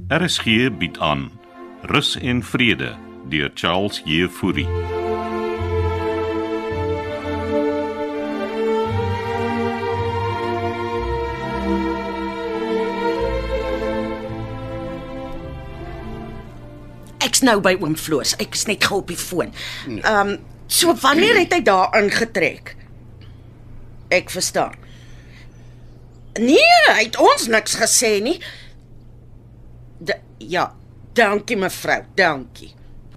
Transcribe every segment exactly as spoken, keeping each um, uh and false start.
R S G bied aan Rus en Vrede deur Charles Jefouri. Ek's nou by oom Floors, ek is net gou op die foon. Ehm, um, so wanneer het hy daar ingetrek? Ek verstaan. Nee, hy het ons niks gesê nie. De, ja, dankie mevrou, dankie.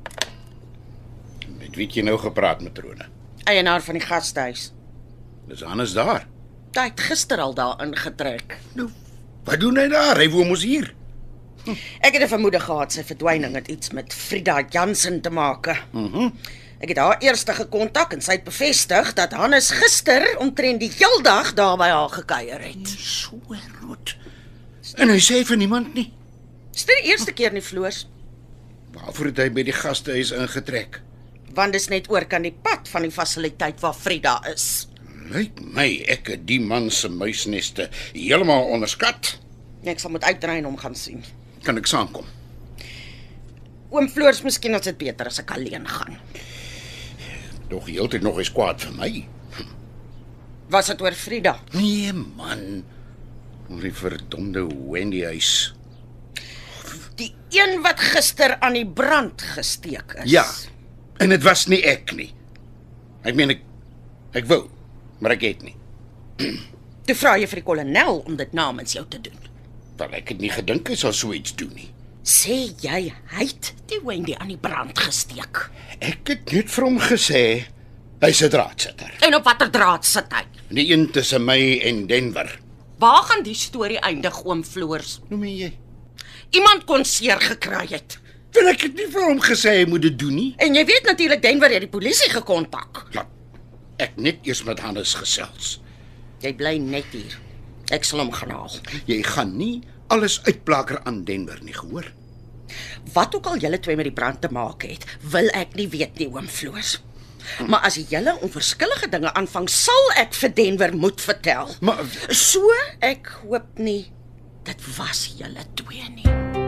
Met wie het jy nou gepraat, matrone? Eienaar van die gastehuis. Dis Hannes daar. Hy het gister al daar ingetrek. Nou, wat doen hy daar? Hy woon mos hier. Ek het 'n vermoede gehad sy verdwyning het iets met Frida Jansen te maak. Mhm. Ek het haar eers gekontak en sy het bevestig dat Hannes gister omtrent die heel dag daar by haar gekuier het. So rot. En hy sê vir niemand nie. Dis nie die eerste keer nie, Floors, Waarvoor het hy by die gastehuis ingetrek? want dis net oor kan die pad van die fasiliteit waar Frida is. Lyk my ek het die man se muisneste heeltemal onderskat. Ek sal moet uitry en hom gaan sien. Kan ek saamkom? Oom Floors, miskien is dit beter as ek alleen gaan. Tog heeltyd nog eens kwaad vir my. Was dit oor Frida? Nee man. Oor die verdomde Wendy huis. Die een wat gister aan die brand gesteek is. Ja. En dit was nie ek nie. Ek meen ek ek wou, maar ek het nie. Toe vra jy vir die kolonel om dit namens jou te doen. Wel ek het nie gedink hy sal so iets doen nie. Sê jy hy het die Wendy aan die brand gesteek? Ek het net vir hom gesê hy's 'n draadsitter. En op watter draad sit hy? Die een tussen my en Denver. Waar gaan die storie eindig, oom Floors? Noem jy? Iemand kon seer gekry het. Wil ek het nie vir hom gesê hy moet dit doen nie. En jy weet natuurlik Denver het die polisie gekontak. Laat ek net eers met Hannes gesels. Jy bly net hier. Ek sal hom gaan haal. Jy gaan nie alles uitplaker aan Denver nie, gehoor? Wat ook al julle twee met die brand te maak het, wil ek nie weet nie, oom Floors. Maar as julle onverskillige dinge aanvang, sal ek vir Denver moet vertel. Maar So ek hoop nie dit was julle twee nie.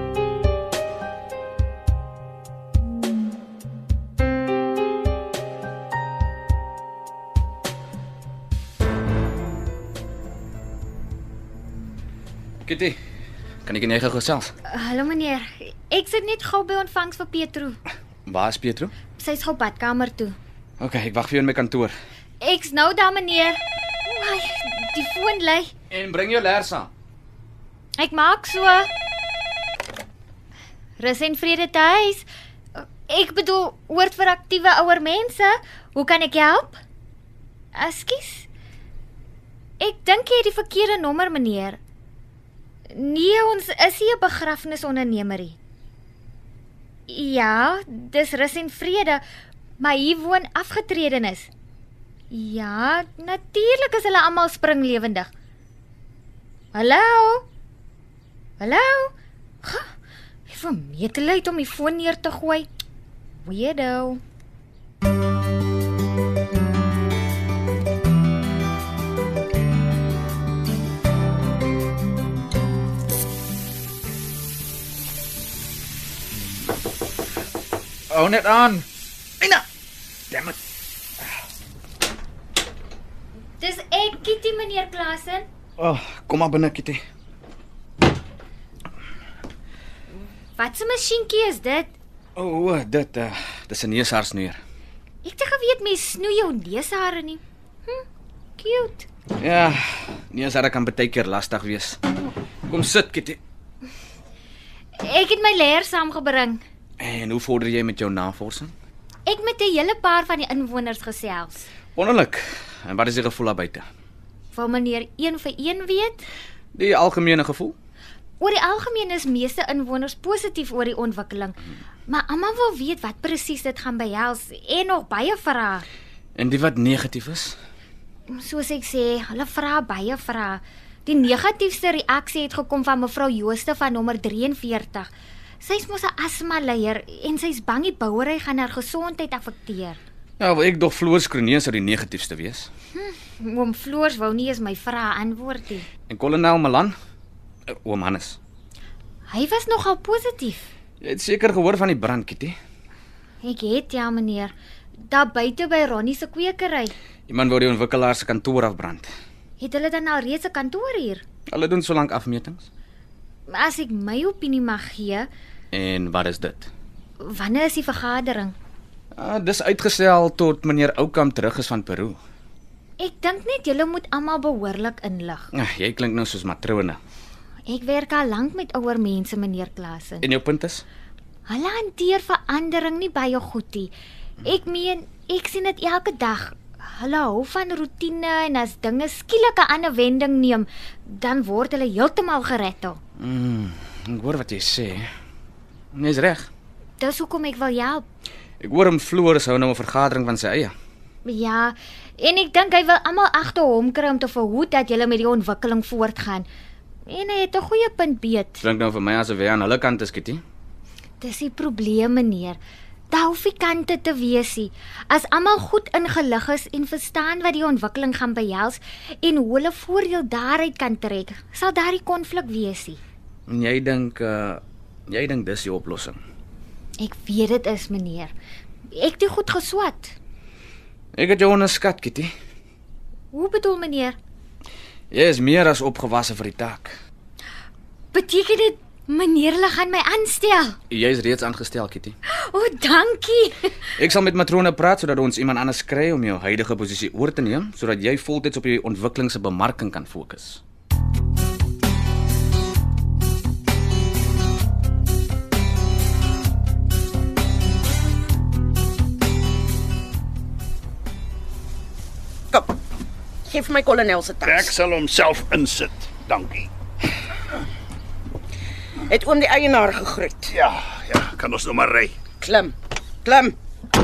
Kitty, kan ek nie gou gesels? Hallo meneer, ek sit net gou by ontvangs vir Petro. Waar is Pietro? Sy's gou badkamer toe. OK, ek wag vir jou in my kantoor. Ek's nou daar meneer. Ai, die foon lê. En bring jou lers aan. Ek maak so. Rus en vrede tuis. Ek bedoel, woord vir aktiewe ouer mense. Hoe kan ek help? Ekskuus. Ek dink jy het die verkeerde nommer meneer. Nee, ons is nie 'n begrafnisondernemerie. Ja, dis Rus en Vrede, maar hier woon afgetredenes. Ja, natuurlik is hulle almal springlewendig. Hallo? Hallo? Ha, ek vermeet leid om die foon neer te gooi. Weirdo. Hou net aan. Ina. Damn it. Dis ek, Kitty, meneer Klasen. Oh, kom maar binne, Kitty. Wat 'n masjienkie is dit? O, oh, dit uh, dis 'n neushaarsnoer. Ek het geweet mens snoei jou neushare nie. Hm, cute. Ja, neushare kan baie keer lastig wees. Kom sit, Kitty. Ek het my leer saamgebring. En hoe vorder jy met jou navorsing? Ek met 'n hele paar van die inwoners gesels. Wonderlik. En wat is die gevoel daar buite? Wil meneer een vir een weet? Die algemene gevoel? Oor die algemeen is meeste inwoners positief oor die ontwikkeling, maar almal wil weet wat presies dit gaan behels en nog baie vrae. En die wat negatief is? Soos ek sê, hulle vra baie vrae. Die negatiefste reaksie het gekom van mevrou Jooste van nommer drie en veertig. Sy's mos 'n asma-leier en sy's bang die bouery gaan haar gesondheid affekteer. Ja, wel ek dog Floors Kronee sou die negatiefste wees. Hm, oom Floors wou nie eens my vrae antwoord nie. En kolonel Malan? Uh, oom Hannes. Hy was nogal positief. Jy het seker gehoor van die brand, Kitty. Ek het ja, meneer. Daar buite by Ronnie se kwekery. Iemand wou die ontwikkelaar se kantoor afbrand. Het hulle dan al reeds 'n kantoor hier? Hulle doen solank afmetings. As ek my opinie mag gee, En wat is dit? wanneer is die vergadering? Ah, dis uitgestel tot meneer Oukamp terug is van Peru. Ek dink net julle moet almal behoorlik inlig. Ah, jy klink nou soos matrone. Ek werk al lank met ouer mense, meneer Klasen. En jou punt is? Hulle hanteer verandering nie baie goed nie. Ek meen, ek sien dit elke dag. Hulle hou van roetine en as dinge skielik 'n ander wending neem, dan word hulle heeltemal gerettel. Mm, ek hoor wat jy sê. Jy's reg. Dis hoekom ek wil help. Ek hoor hom Floris hou nou 'n vergadering van sy eie. Ja, en ek dink hy wil almal agter hom kry om te verhoed dat julle met die ontwikkeling voortgaan. En hy het 'n goeie punt beet. Klink nou vir my asof hy aan hulle kant is, Kitty. Dis die probleem, meneer. Daar hoef nie kante te wees nie. As almal goed ingelig is en verstaan wat die ontwikkeling gaan behels en hoe hulle voordeel daaruit kan trek, sal daar nie konflik wees nie. En jy dink uh jy dink dis die oplossing. Ek weet dit is, meneer. Ek het dit goed geswat. Ek het jou onderskat, Kitty. Hoe bedoel meneer? Jy is meer as opgewasse vir die taak. Beteken dit meneer hulle gaan my aanstel? Jy is reeds aangestel, Kitty. O, oh, dankie. Ek sal met matrone praat sodat ons iemand anders kry om jou huidige posisie oor te neem, sodat jy voltyds op die ontwikkeling se bemarking kan fokus. Kom. Geef my kolonel se tas. Ek sal homself insit. Dankie. Het oom die eienaar gegroet. Ja, ja, kan ons nou maar ry. Klim. Klim.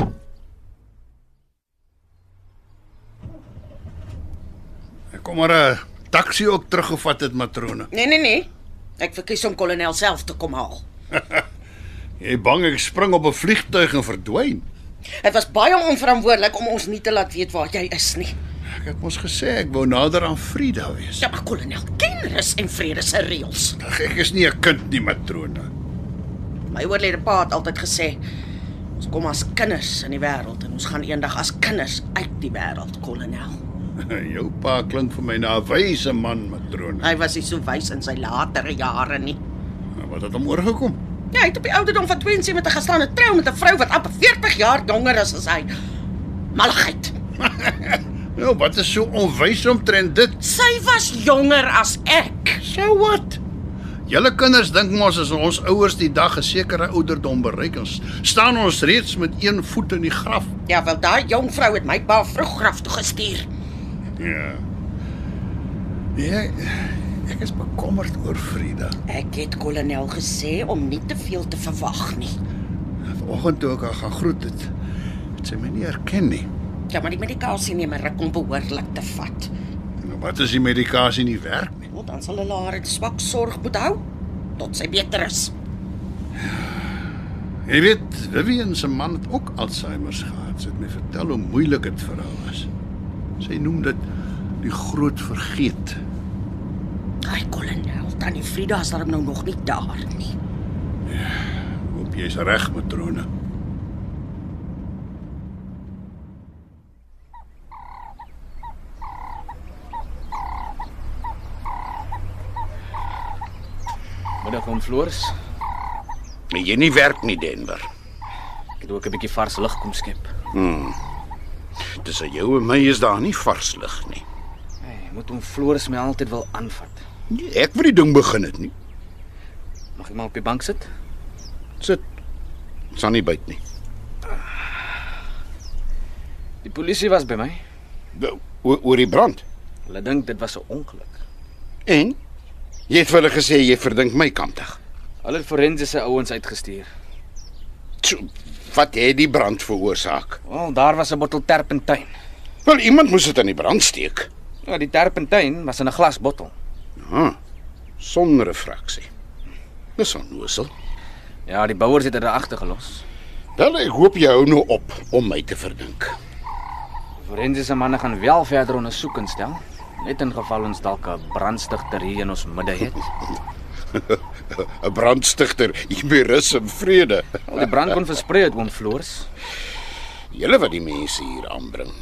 Ek kom maar 'n taxi ook teruggevat het, matrone. Nee, nee, nee. Ek verkies om kolonel self te kom haal. Jy bang ek spring op 'n vliegtuig en verdwyn? Dit was baie onverantwoordelik om ons nie te laat weet waar jy is nie. Ek het mos gesê ek wou nader aan Frida wees. Ja, maar kolonel, ken rus en vrede se reëls. Ag, ek is nie 'n kind nie, matrone. My oorlede pa het altyd gesê, ons kom as kinders in die wêreld en ons gaan eendag as kinders uit die wêreld, kolonel. Jou pa klink vir my na 'n wyse man, matrone. Hy was nie so wys in sy latere jare nie. Wat het hom oorgekom? Ja, hy het op die ouderdom van twee en sewentig gestaan en trou met 'n vrou wat amper veertig jaar jonger is as hy. Malligheid. Nou, wat is so onwys omtrent dit? Sy was jonger as ek. So wat? Julle kinders dink mos as ons ouers die dag 'n sekere ouderdom bereik, ons staan ons reeds met een voet in die graf. Ja, wel daai jong vrou het my pa vroeg graf toe gestuur. Ja. Ja, ek is bekommerd oor Frida. Ek het kolonel gesê om nie te veel te verwag nie. Vanoggend toe ek haar gaan groet het, het sy my nie herken nie. Ja, maar die medikasie neem 'n ruk om behoorlik te vat. Nou, wat as die medikasie nie werk nie? Nou, dan sal hulle haar in swak sorg moet hou tot sy beter is. Jy weet, Vivian se man het ook Alzheimer's gehad. Sy het my vertel hoe moeilik dit vir haar was. Sy noem dit die groot vergeet. Ai, kolonel, tannie Frida is daarom nou nog nie daar nie. Hoop jy's reg, matrone. Middag om Floris. Maar jy nie werk nie, Denver. Ek het ook 'n bietjie vars lug kom skep. Tussen jou en my is daar nie vars lig nie. Hey, moet om Floris my altyd wil aanvat. Nee, ek wil die ding begin het nie. Mag ek maar op die bank sit? Sit. Sal nie byt nie. Die polisie was by my. Oor, oor die brand. Hulle dink dit was 'n ongeluk. En? Jy het vir hulle gesê jy verdink my kampdag. Hulle het forensiese ouens uitgestuur. So, wat het die brand veroorsaak? Wel, daar was 'n bottel terpentyn. Wel, iemand moes dit in die brand steek. Ja, die terpentyn was in 'n glasbottel. Ah, sonder 'n fraksie. Dis onnoosel. Ja, die bouers het dit agtergelos. Wel, ek hoop jy hou nou op om my te verdink. Die forensiese manne gaan wel verder ondersoek instel, net in geval ons dalk 'n brandstigter hier in ons midde het. 'n brandstigter hier by Rus en Vrede. Al die brand kon versprei het, oom Floors. Julle wat die mense hier aanbring.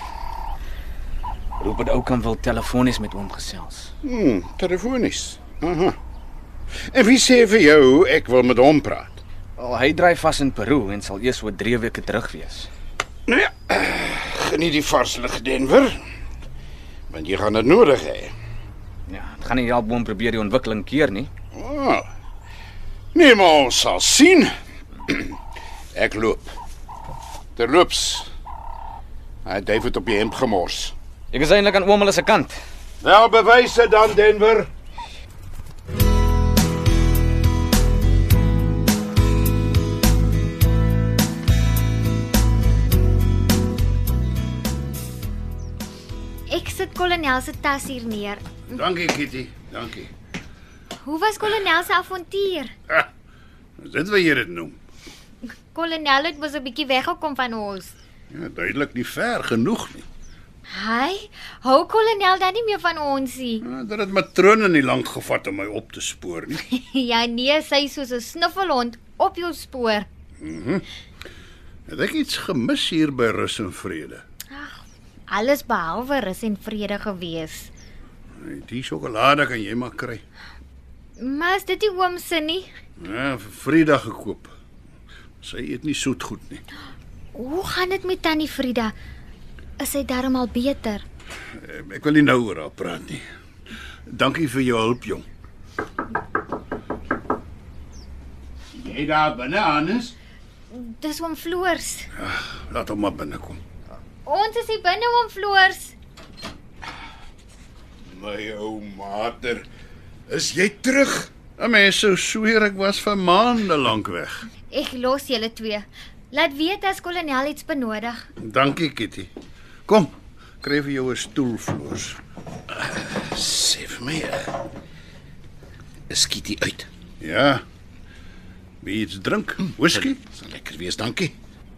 Rupert Oukamp wil telefonies met oom gesels. Hmm, telefonies. Aha. En wie sê vir jou ek wil met hom praat? Oh, hy dryf vas in Peru en sal eers oor drie weke terug wees. Nou ja, geniet die vars lig Denver. Want jy gaan dit nodig hê. Ja, het gaan nie help oom probeer die ontwikkeling keer nie. Oh. Nee, maar ons sal sien. Ek loop. Terloops. Hy het David op die hemp gemors. Ek is eintlik aan oom hulle se kant. Wel, bewyse dan, Denver. Ek sit kolonel se tas hier neer. Dankie, Kitty. Dankie. Hoe was kolonel se avontuur? Ha, dit wat jy dit noem. Kolonel het mos 'n bietjie weggekom van ons. Ja, duidelik nie ver genoeg nie. Hy hou kolonel dan nie meer van ons nie. Ja, dat het matrone nie lank gevat om my op te spoor nie. Ja nee, sy is soos 'n snuffelhond op jou spoor. Het ek iets gemis hier by Rus en Vrede? Alles behalwe rus en vrede gewees. Nee, die sjokolade kan jy maar kry. Maar is dit die oom se nie? Ja, vir Vrydag gekoop. Sy eet nie soet goed nie. Hoe gaan dit met tannie Frida? Is sy darm al beter? Ek wil nie nou oor haar praat nie. Dankie vir jou hulp, jong. Jy daar binne, Hannes? Dis oom Floors. Laat hom maar binnekom. Ons is hier binne oom Floors. My ou mater, is jy terug? 'n Mens sou sweer ek was vir maande lank weg. Ek los julle twee. Laat weet as kolonel iets benodig. Dankie, Kitty. Kom, kry vir jou 'n stoel, Floors. Sê vir my, is Kitty uit? Ja. Wie iets drink? Whisky? Sal lekker wees, dankie.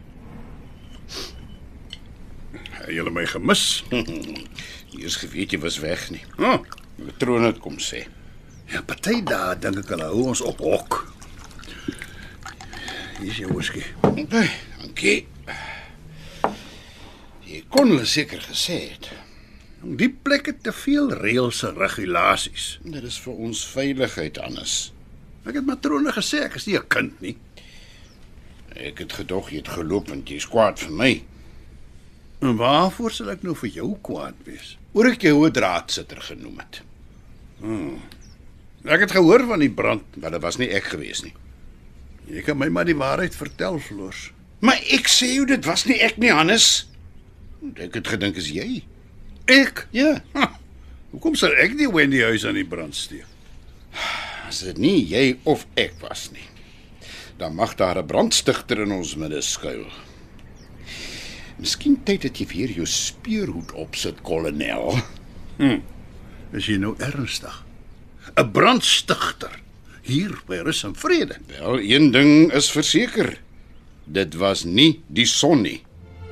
Het julle my gemis? Eers geweet jy was weg nie. Oh, Die troon het kom sê. ja, party daar dink ek hulle hou ons op hok. Hier is jou whisky. Okay, dankie. Jy kon hulle seker gesê het. Die plek het te veel reëls en regulasies. Dit is vir ons veiligheid anders. Ek het matrone gesê ek is nie 'n kind nie. Ek het gedog jy het geloop want jy's kwaad vir my. En waarvoor sal ek nou vir jou kwaad wees? Oor ek jou 'n draadsitter genoem het. Ek het gehoor van die brand. Maar dit was nie ek gewees nie. Jy kan my maar die waarheid vertel, Floors. Maar ek sê jou dit was nie ek nie, Hannes. Ek het gedink is jy. Ek? Ja. Ha, hoekom sal ek die Wendy huis aan die brand steek? As dit nie jy of ek was nie, dan mag daar 'n brandstigter in ons midde skuil. Miskien tyd dat jy weer jou speurhoed opsit, kolonel. Is jy nou ernstig? 'n Brandstigter hier by Rus en Vrede. Wel, een ding is verseker. Dit was nie die son nie.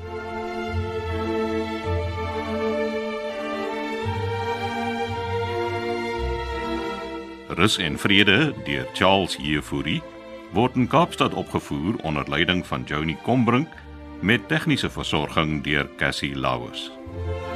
Rus en Vrede deur Charles Jefouri word in Kaapstad opgevoer onder leiding van Johnny Combrink met tegniese versorging deur Cassie Lauers.